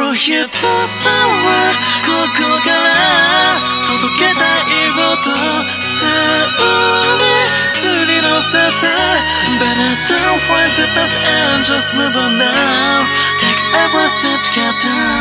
の一つはここから届けたい音さあに釣り乗せて Better to find the best and just move on now Take everything together